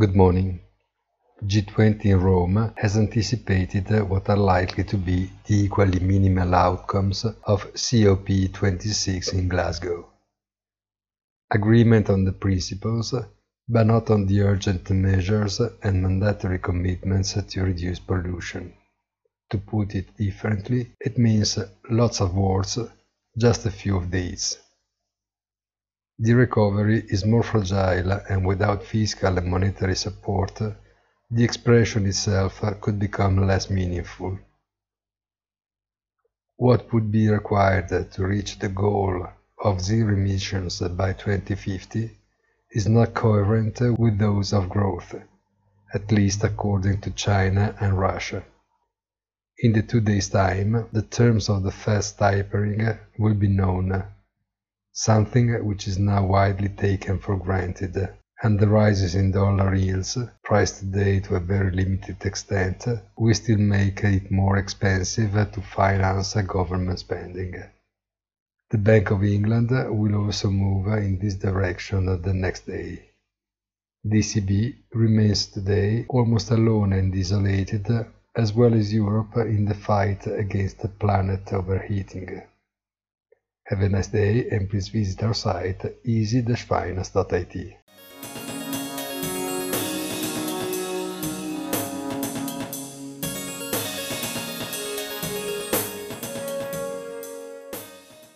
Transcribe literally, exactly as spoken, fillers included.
Good morning. G twenty in Rome has anticipated what are likely to be the equally minimal outcomes of COP twenty-six in Glasgow. Agreement on the principles, but not on the urgent measures and mandatory commitments to reduce pollution. To put it differently, it means lots of words, just a few of deeds. The recovery is more fragile, and without fiscal and monetary support, the expression itself could become less meaningful. What would be required to reach the goal of zero emissions by twenty fifty is not coherent with those of growth, at least according to China and Russia. In the two days' time, the terms of the fast tapering will be known, something which is now widely taken for granted, and the rises in dollar yields, priced today to a very limited extent, will still make it more expensive to finance government spending. The Bank of England will also move in this direction the next day. The E C B remains today almost alone and isolated, as well as Europe, in the fight against the planet overheating. Have a nice day, and please visit our site easy dash finance dot I T.